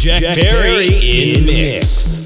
Jack Perry in mix.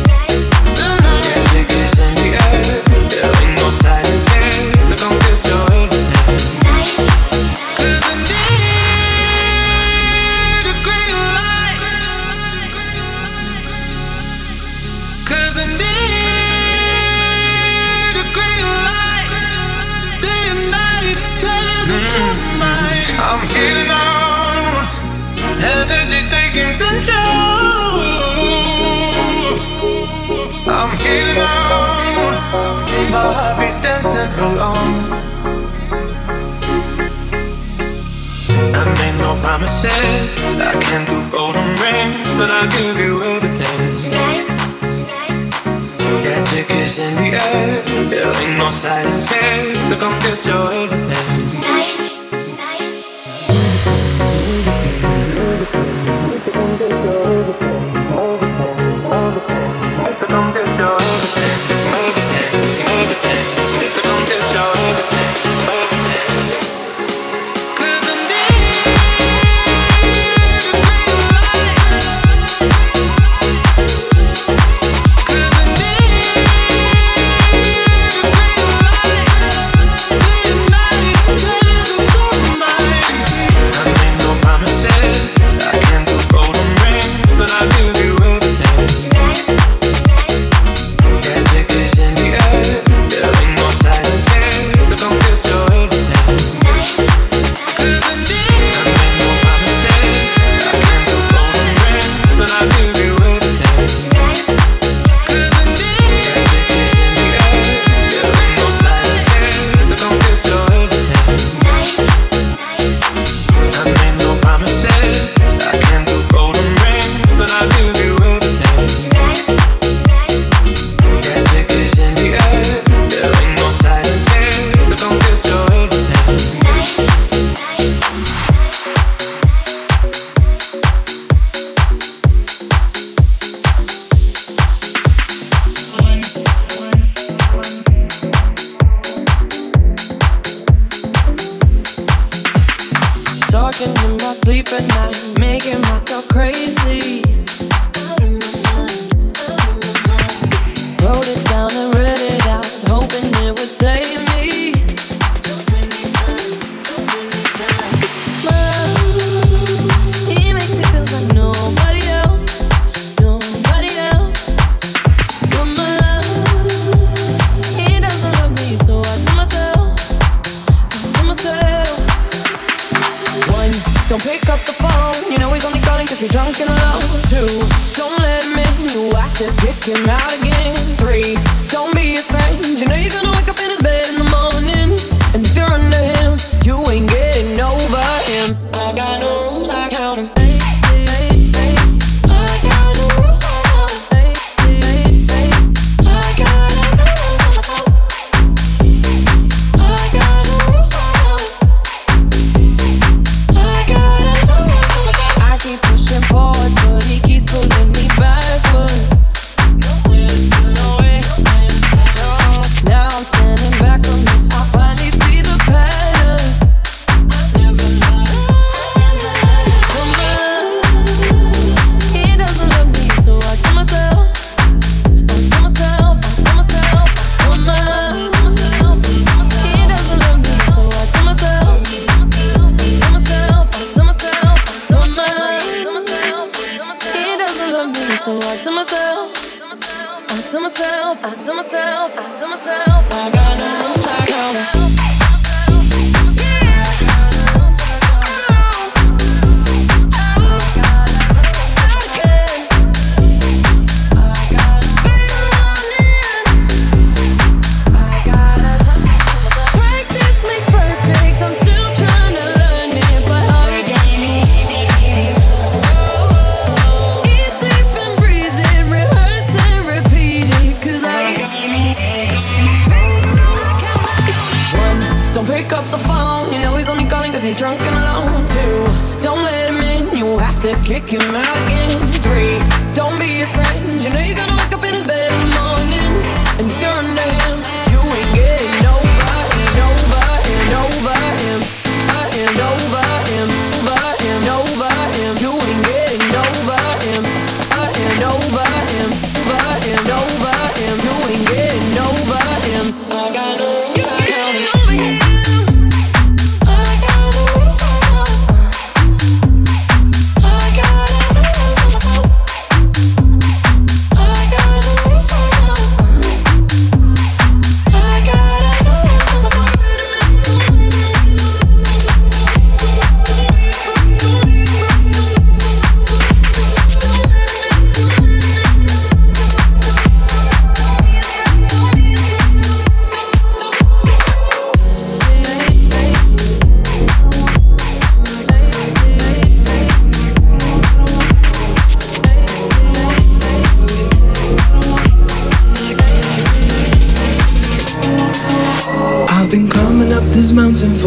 Get your I'm healing out, energy taking control. I'm healing out, my heart beats dancing along. I made no promises, I can't do golden rings, but I'll give you everything. Yeah, tickets in the air, there ain't no silence here, so come get your everything. Tonight.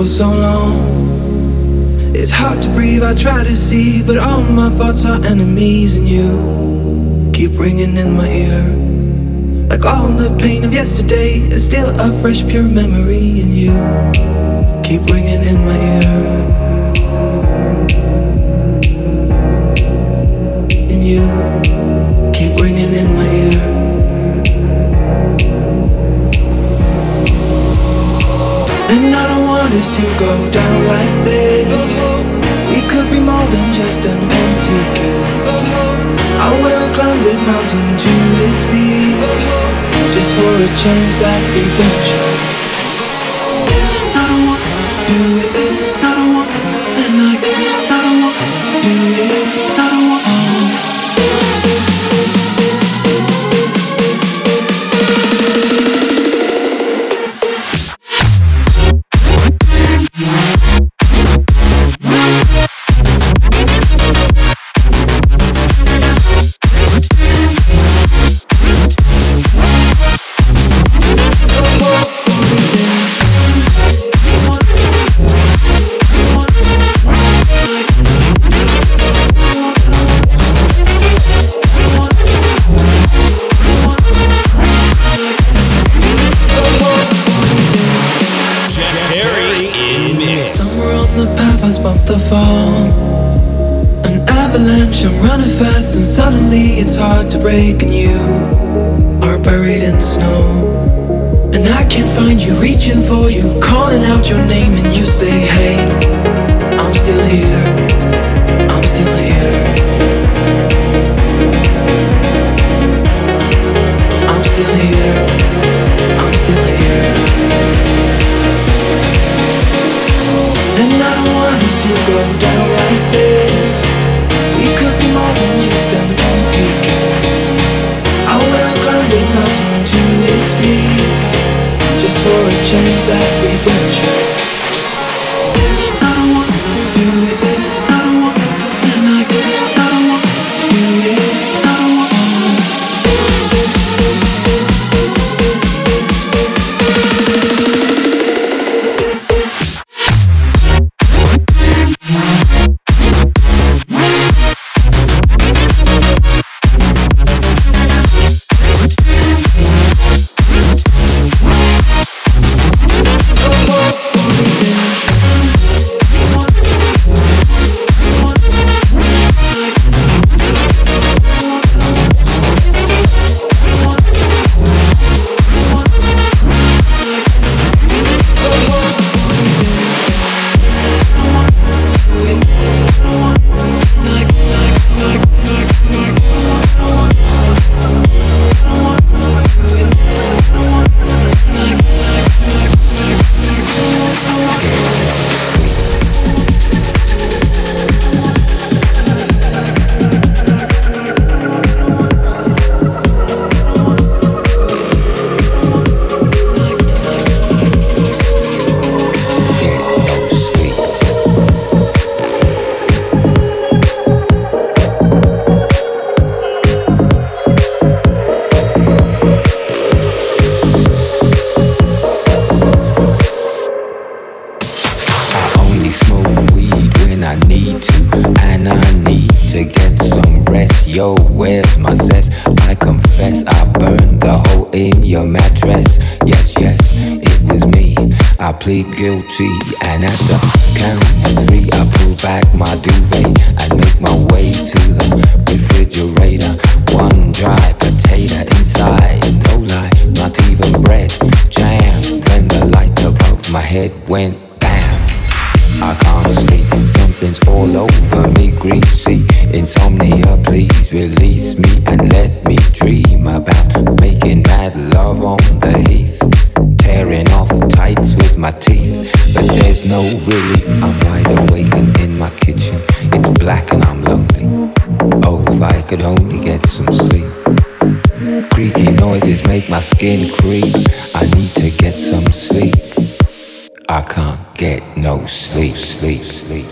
for so long. It's hard to breathe, I try to see, but all my thoughts are enemies, and you keep ringing in my ear. Like all the pain of yesterday is still a fresh, pure memory, and you keep ringing in my ear. And you keep ringing in my ear. And I don't want us to go down like this. We could be more than just an empty kiss. I will climb this mountain to its peak, just for a chance at redemption. I don't want to do it. I don't want, and I don't want to do it. I don't want. It's hard to break, and you are buried in snow. And I can't find you, reaching for you, calling out your name, and you say, hey, I'm still here, I'm still here, I'm still here, I'm still here. And I don't want us to go down like this. We could be more than just an empty kiss. I will climb this mountain to its peak, just for a chance at redemption. I don't want to do it. I don't want, and I don't want to do it. I don't want. Plead guilty, and at the count of 3 I pull back my duvet and make my way to the refrigerator. One dry potato inside, no lie, not even bread, jam. When the light above my head went bam, I can't sleep, something's all over me, greasy. Insomnia, please release me and let me dream about making mad love on the heath, tearing off tights with my teeth, but there's no relief. I'm wide awake and in my kitchen, it's black and I'm lonely. Oh, if I could only get some sleep. Creaky noises make my skin creep. I need to get some sleep. I can't get no sleep, sleep, sleep.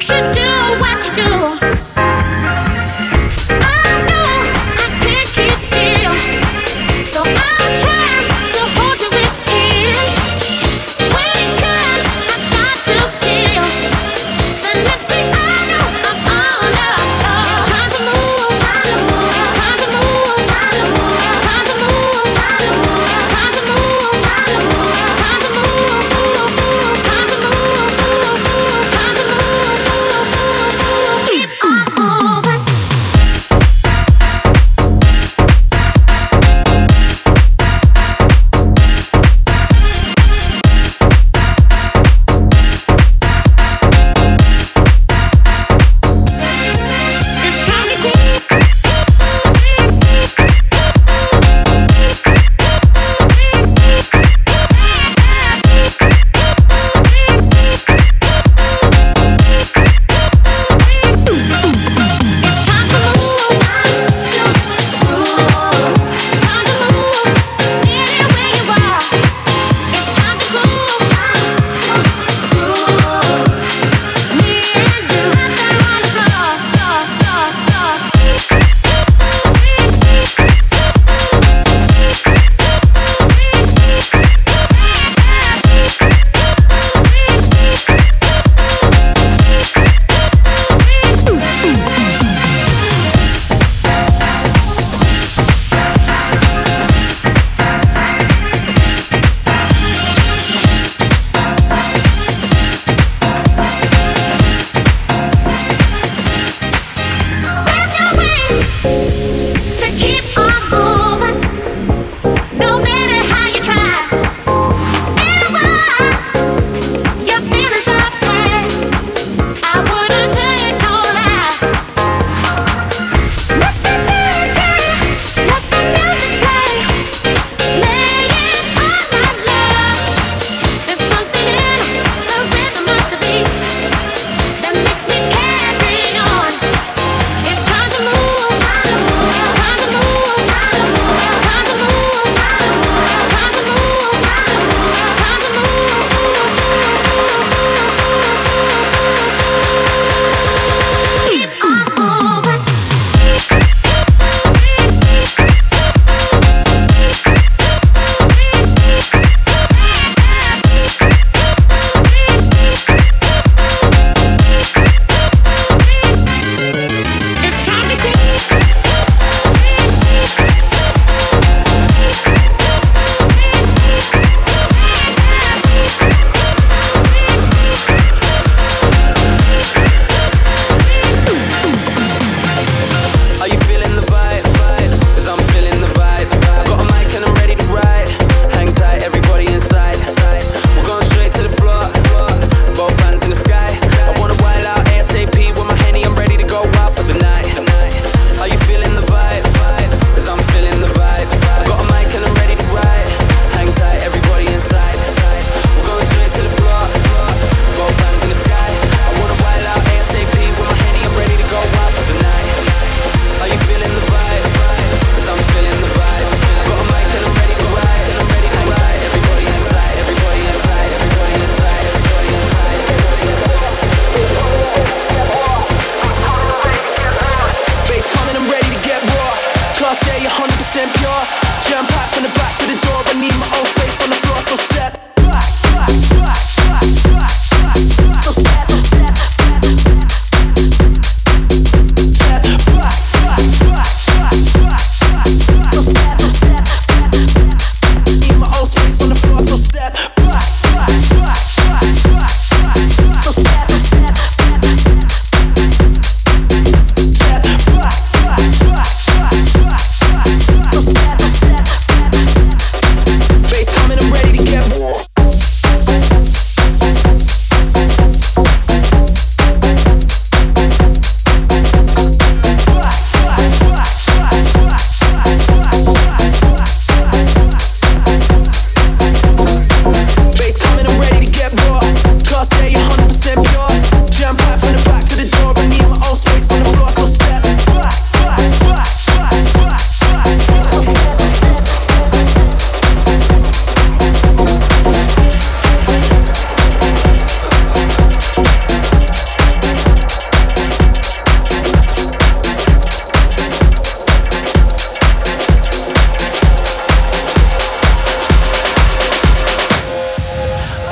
Time to move.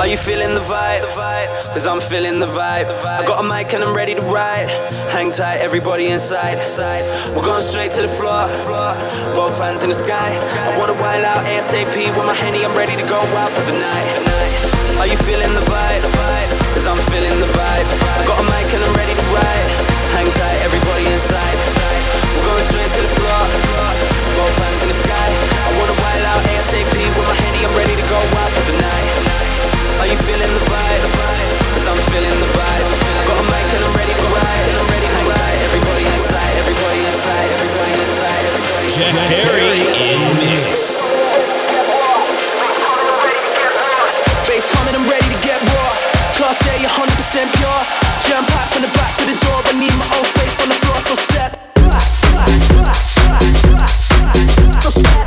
Are you feeling the vibe? Cause I'm feeling the vibe. I got a mic and I'm ready to ride. Hang tight, everybody inside. We're going straight to the floor. Both hands in the sky. I wanna wild out ASAP with my Henny. I'm ready to go out for the night. Are you feeling the vibe? Cause I'm feeling the vibe. I got a mic and I'm ready to ride. Hang tight, everybody inside. We're going straight to the floor. Both hands in the sky. I wanna wild out ASAP with my Henny. I'm ready to go out for the night. Are you feeling the vibe? Cause I'm feeling the vibe. I got a mic and I'm ready to ride. Hang tight, everybody inside. Everybody inside. Everybody inside. Jack Perry in mix. Bass coming, I'm ready to get raw. Class A, 100% pure. Jam packed from the back to the door. I need my own space on the floor, so step back. So step.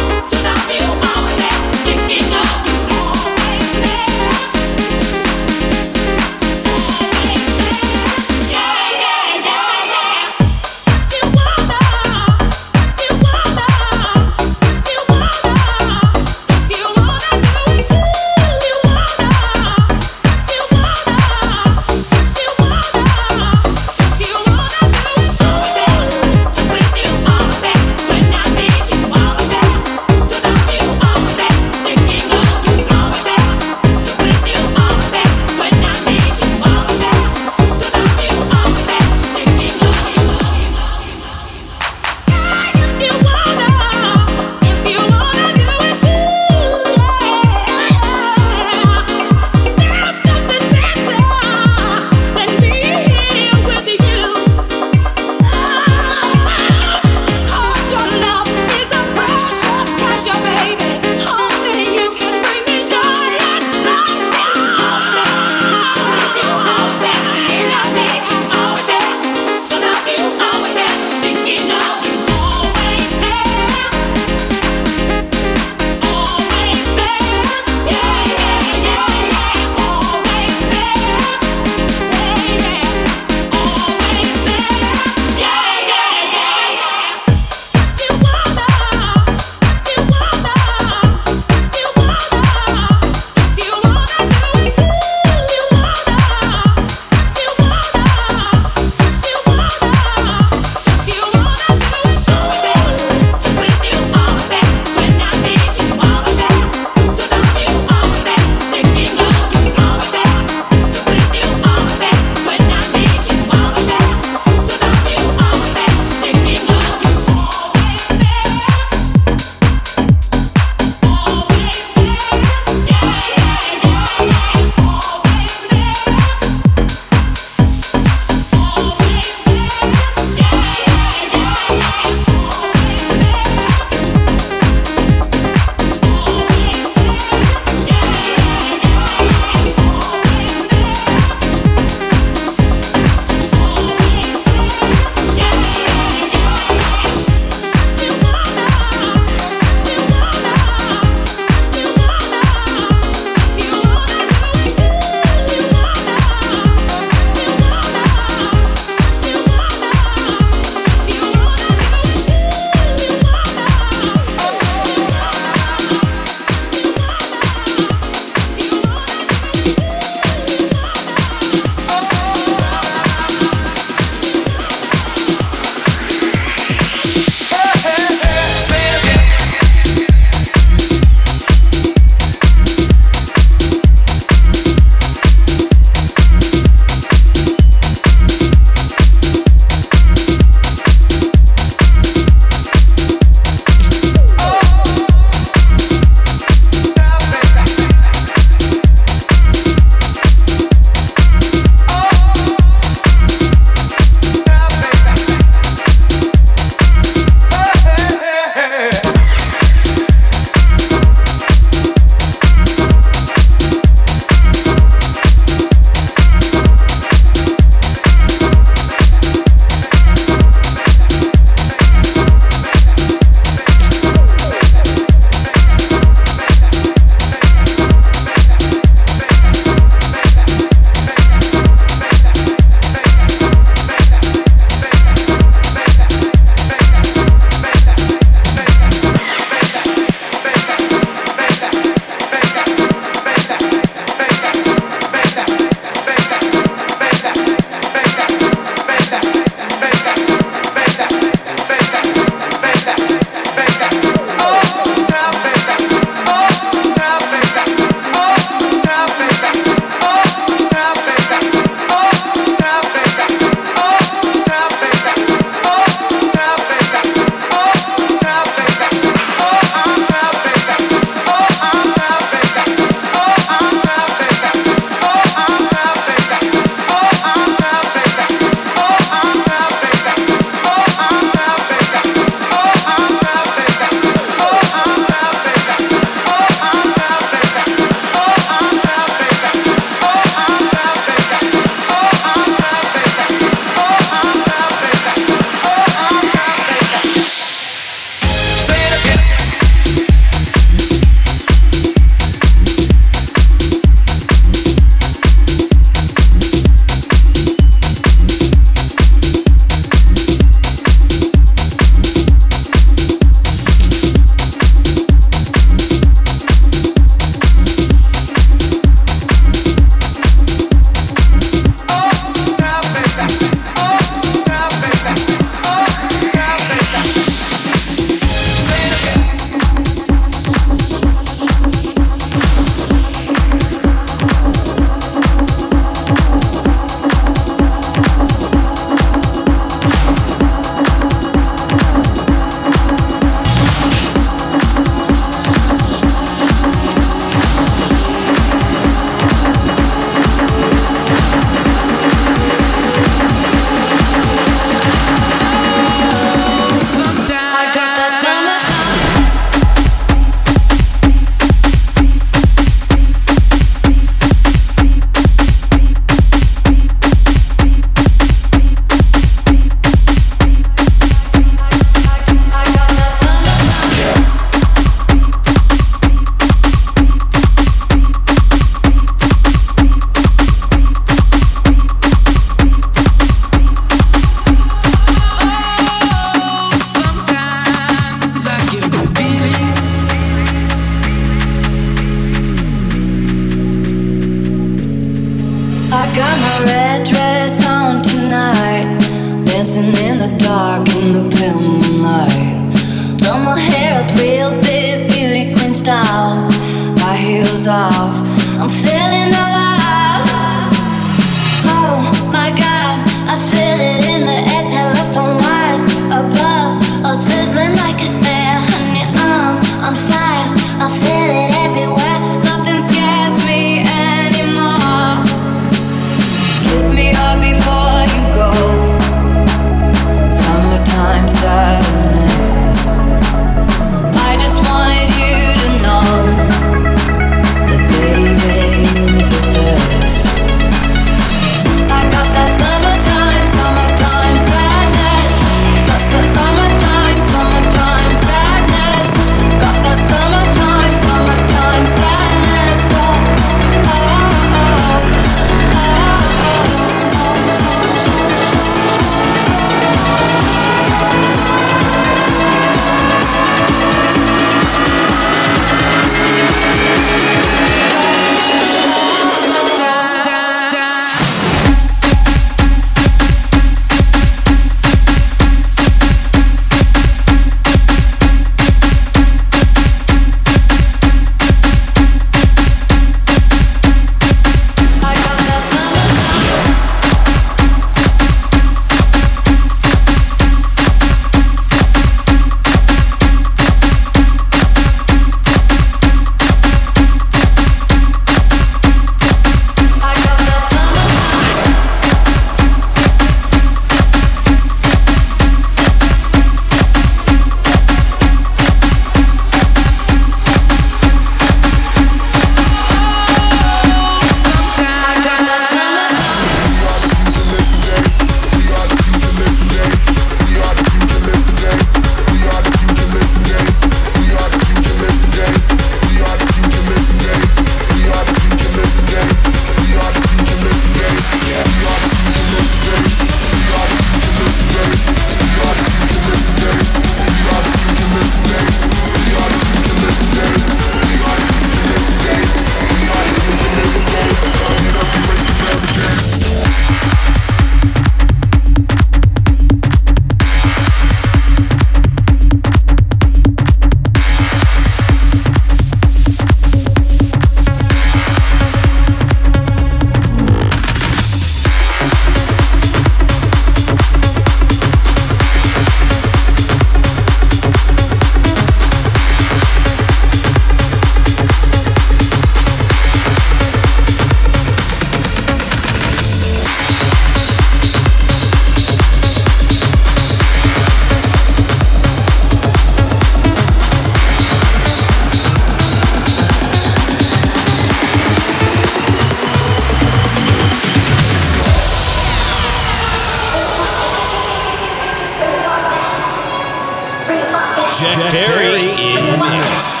Jack Perry in mix.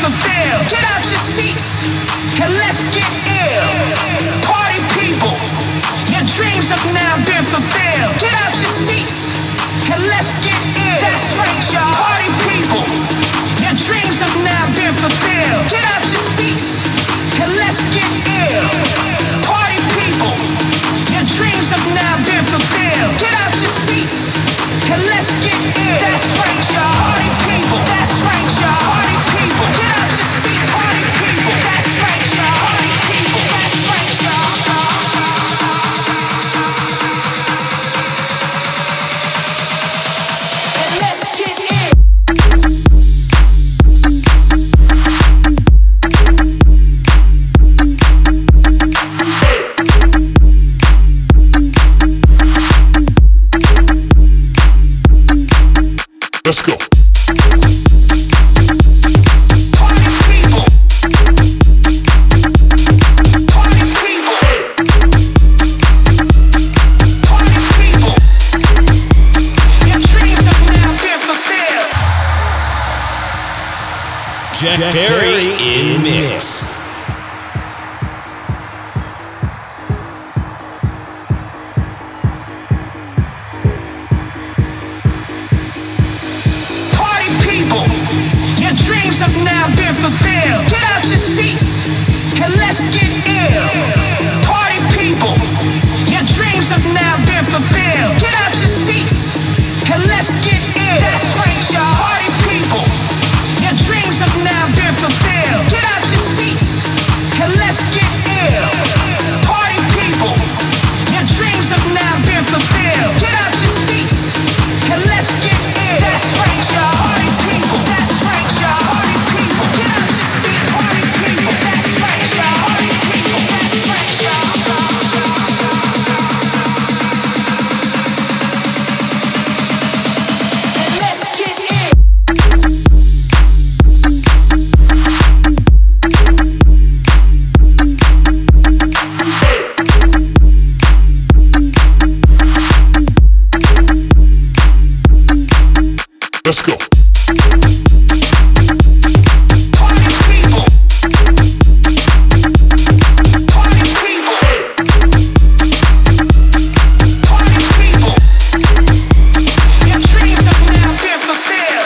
fulfilled. Get out your seats and let's get ill. Party people, your dreams have now been fulfilled. Get out your seats and let's get ill. That's right, y'all. Party people, your dreams have now been fulfilled. Get out your seats and let's get ill. Party people, your dreams have now been fulfilled. Get out your seats and let's get ill. That's right, y'all. Party people, that's right, y'all. Party people, get out your seats. Party people, that's right, y'all. Party people, that's right, y'all. And let's get in. Let's go. Party people. Party people. Party people. Your dreams have now been fulfilled. Jack Perry in mix. Party people, your dreams have now been fulfilled. Get out your seats and let's get ill. Party people, your dreams have now been fulfilled. Get out your seats and let's get ill. That's right, y'all. Party people, your dreams have now been fulfilled. Get out your seats and let's get ill. Party people, your dreams have now been fulfilled. Get out your seats and let's get ill. That's right, y'all. Party people, that's right, y'all. Party people, get out your seats. Party people, that's right, y'all. Party people, that's right, y'all. And let's get in. Let's go. Party people. Party people. Party people. Your dreams have now been fulfilled.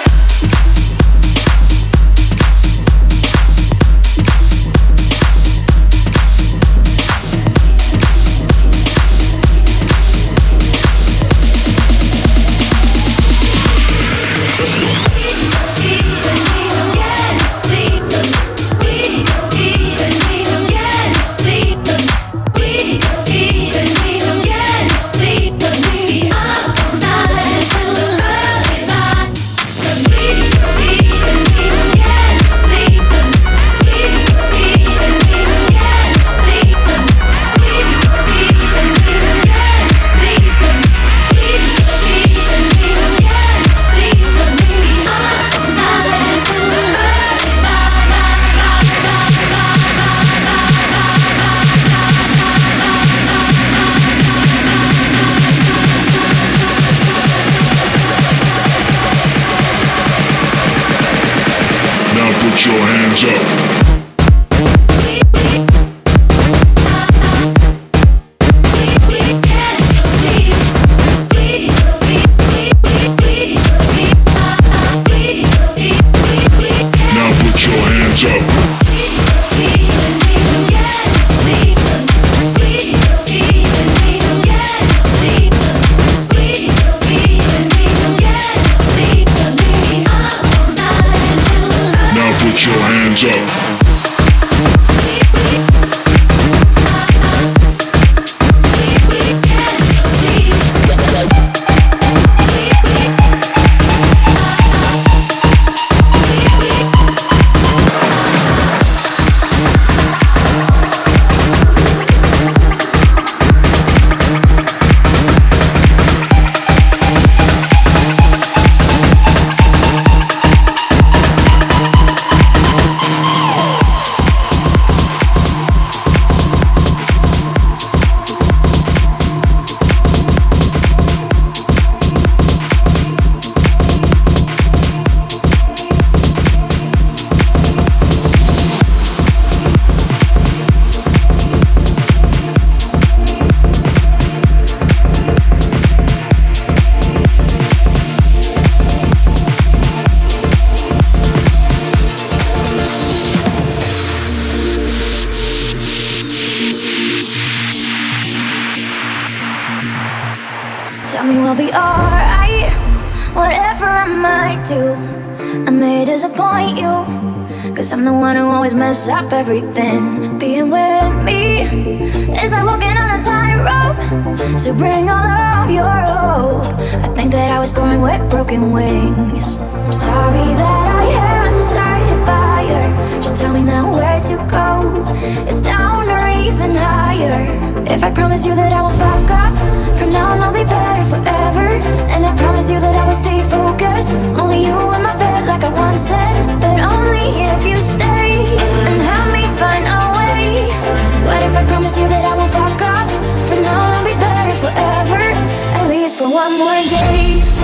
Now put your hands up. Now put your hands up. Now put your hands up. to. I may disappoint you, 'cause I'm the one who always mess up everything. Being with me is like walking on a tightrope, so bring all of your hope. I think that I was born with broken wings. I'm sorry that I had to start a fire. Just tell me now where to go. It's down or even higher. If I promise you that I won't fuck up, from now on I'll be better forever. And I promise you that I will stay focused. Only you in my bed like I once said. But only if you stay and help me find a way. What if I promise you that I won't fuck up? From now on I'll be better forever. At least for one more day.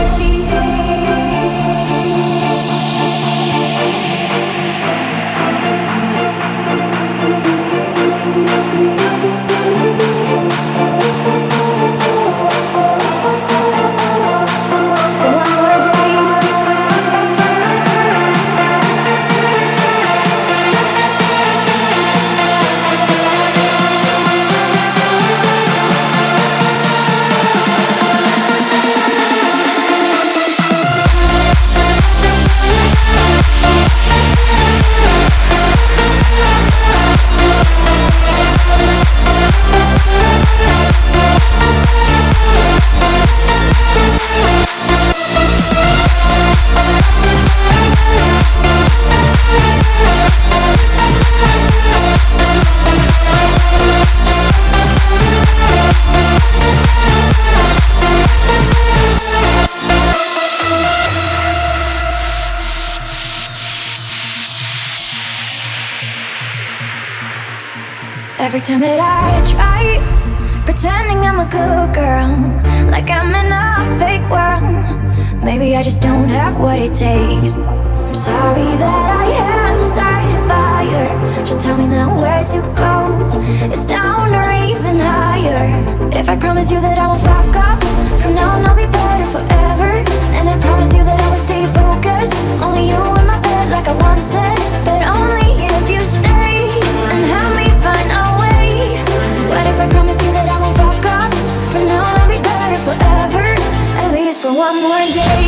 Every time that I try pretending I'm a good girl, like I'm in a fake world, maybe I just don't have what it takes. I'm sorry that I had to start a fire. Just tell me now where to go. It's down or even higher. If I promise you that I won't fuck up, from now on I'll be better forever. And I promise you that I will stay focused. Only you in my bed like I once said. But only if you stay and help me find a way. What if I promise you that I won't fuck up? From now on I'll be better forever. At least for one more day.